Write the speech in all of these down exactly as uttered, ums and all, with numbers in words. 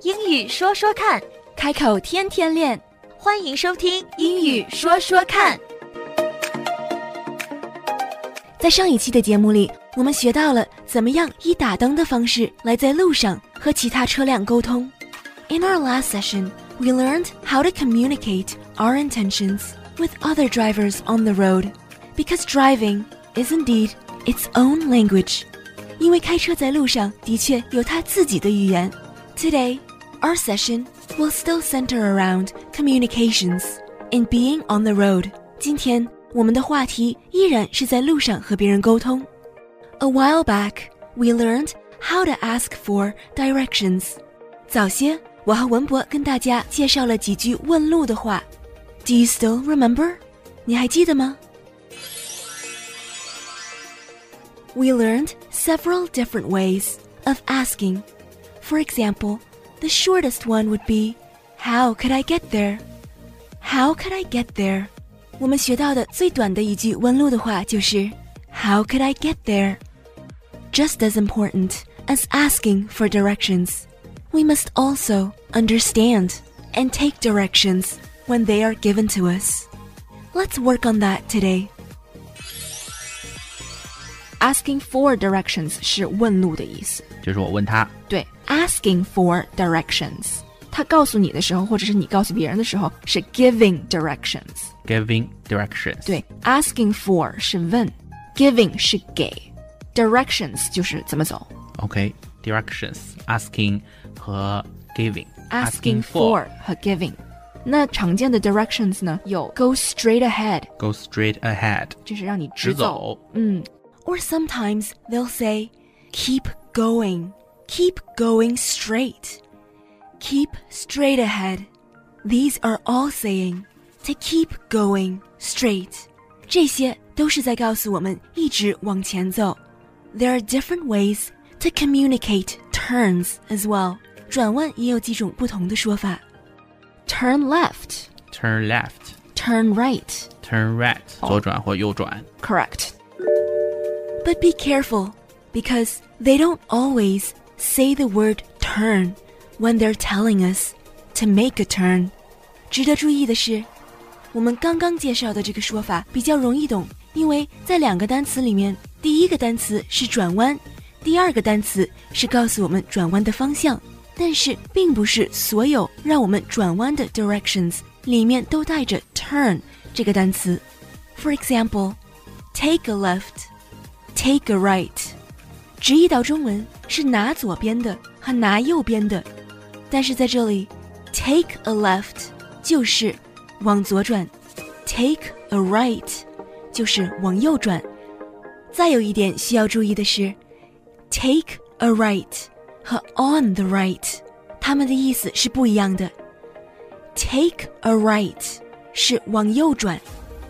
英语说说看， 开口天天练。 欢迎收听英语说说看。 在上一期的节目里，我们学到了怎么样以打灯的方式来在路上和其他车辆沟通。In our last session, we learned how to communicate our intentions with other drivers on the road, because driving is indeed its own language. 因为开车在路上的确有它自己的语言。Today, our session will still center around communications and being on the road. 今天我们的话题依然是在路上和别人沟通。A while back, we learned how to ask for directions. 早些，我和文博跟大家介绍了几句问路的话。Do you still remember? 你还记得吗？ We learned several different ways of asking. For example, the shortest one would be, How could I get there? How could I get there? 我们学到的最短的一句问路的话就是 How could I get there? Just as important as asking for directions, we must also understand and take directions when they are given to us. Let's work on that today. Asking for directions 是问路的意思， 就是我问他。 对 ，asking for directions， 他告诉你的时候，或者是你告诉别人的时候，是 giving directions。Giving directions。 对 ，asking for 是问 ，giving 是给 ，directions 就是怎么走。 OK，directions、okay, asking 和 giving。Asking for 和 giving。那常见的 directions 呢，有 go straight ahead。Go straight ahead， 就是让你直走。 直走嗯。Or sometimes they'll say, keep going, keep going straight, keep straight ahead. These are all saying to keep going straight. 这些都是在告诉我们一直往前走。There are different ways to communicate turns as well. 转弯也有几种不同的说法。Turn left, turn left, turn right, turn right, 左转或右转。 Correct.But be careful, because they don't always say the word turn when they're telling us to make a turn. 值得注意的是，我们刚刚介绍的这个说法比较容易懂，因为在两个单词里面，第一个单词是转弯，第二个单词是告诉我们转弯的方向，但是并不是所有让我们转弯的 directions 里面都带着 turn 这个单词。For example, take a left.Take a right， 直译到中文是拿左边的和拿右边的，但是在这里 take a left 就是往左转， take a right 就是往右转。再有一点需要注意的是 take a right 和 on the right 它们的意思是不一样的。 take a right 是往右转，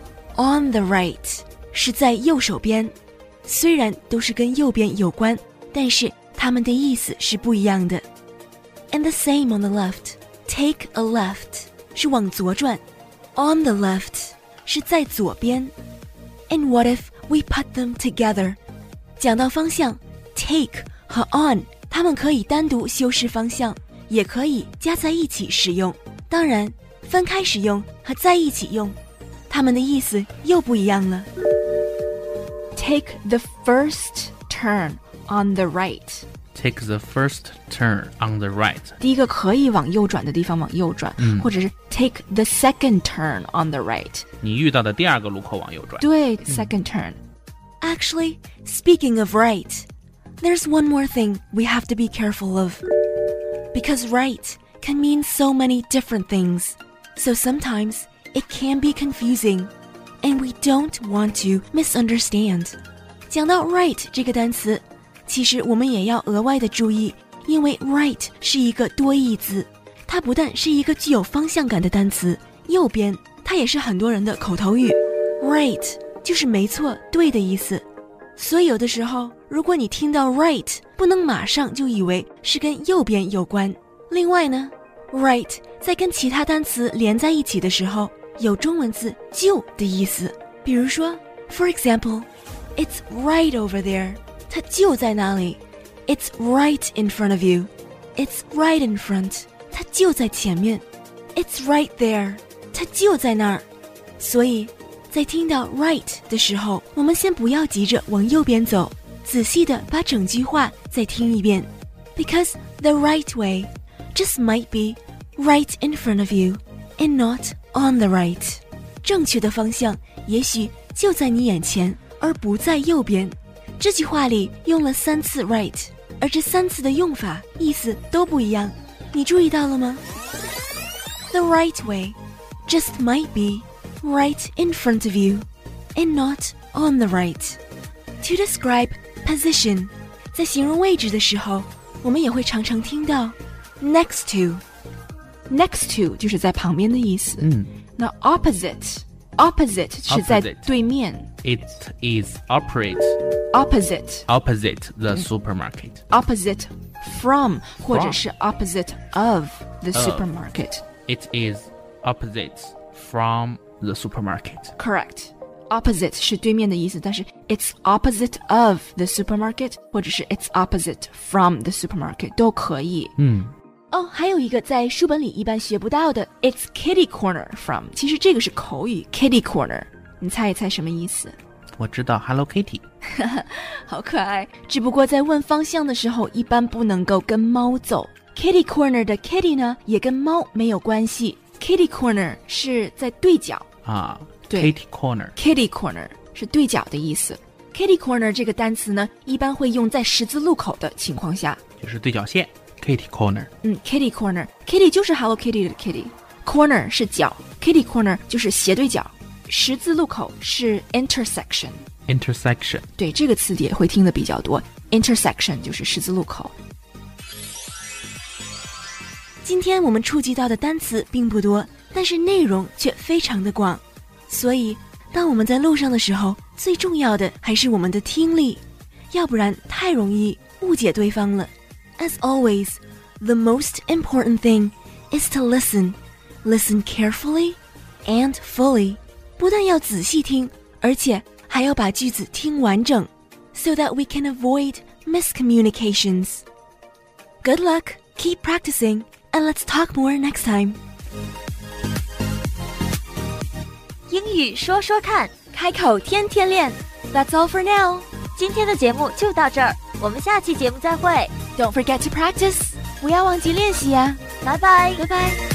on the right 是在右手边，虽然都是跟右边有关，但是它们的意思是不一样的。And the same on the left. Take a left 是往左转， on the left 是在左边。And what if we put them together? 讲到方向 take 和 on 它们可以单独修饰方向，也可以加在一起使用。当然，分开使用和在一起用，它们的意思又不一样了。Take the first turn on the right. Take the first turn on the right. 第一个可以往右转的地方往右转，嗯、或者是 take the second turn on the right. 你遇到的第二个路口往右转。 对、嗯、second turn. Actually, speaking of right, there's one more thing we have to be careful of. Because right can mean so many different things. So sometimes it can be confusing.And we don't want to misunderstand. 讲到 right 这个单词，其实我们也要额外的注意，因为 right 是一个多义字，它不但是一个具有方向感的单词，右边它也是很多人的口头语。right 就是没错，对的意思。所以有的时候，如果你听到 right， 不能马上就以为是跟右边有关。另外呢 right 在跟其他单词连在一起的时候，有中文字就的意思。比如说 For example, it's right over there. 它就在那里。It's right in front of you. It's right in front. 它就在前面。It's right there. 它就在那儿。所以在听到 right 的时候，我们先不要急着往右边走，仔细的把整句话再听一遍。Because the right way just might be right in front of you and not on the right. 正确的方向也许就在你眼前，而不在右边。这句话里用了三次 right， 而这三次的用法意思都不一样，你注意到了吗？ The right way just might be right in front of you and not on the right. To describe position, 在形容位置的时候，我们也会常常听到 next to. Next to 就是在旁边的意思。 嗯， 那 opposite opposite 是在对面。 It is opposite opposite opposite the supermarket. opposite from 或者是 opposite of the supermarket. It is opposite from the supermarket. Correct. Opposite 是对面的意思，但是 it's opposite of the supermarket 或者是 it's opposite from the supermarket 都可以。 嗯。 哦，还有一个在书本里一般学不到的 it's kitty corner from， 其实这个是口语 kitty corner， 你猜一猜什么意思？ 我知道 Hello Kitty。 好可爱，只不过在问方向的时候一般不能够跟猫走。 kitty corner 的 kitty 呢也跟猫没有关系， kitty corner 是在对角啊， 对 Kitty corner kitty corner 是对角的意思。 kitty corner 这个单词呢一般会用在十字路口的情况下， 就是对角线 Kitty corner。 嗯 kitty corner Kitty 就是 Hello Kitty 的 Kitty， Corner 是角， Kitty corner 就是斜对角，十字路口是 intersection Intersection 对，这个词也会听得比较多， intersection 就是十字路口。今天我们触及到的单词并不多，但是内容却非常的广，所以当我们在路上的时候，最重要的还是我们的听力，要不然太容易误解对方了。As always, the most important thing is to listen. Listen carefully and fully. 不但要仔细听，而且还要把句子听完整 so that we can avoid miscommunications. Good luck, keep practicing, and let's talk more next time. 英语说说看， 开口天天练。That's all for now. 今天的节目就到这儿，我们下期节目再会。 Don't forget to practice. 不要忘记练习呀。 拜拜， 拜拜。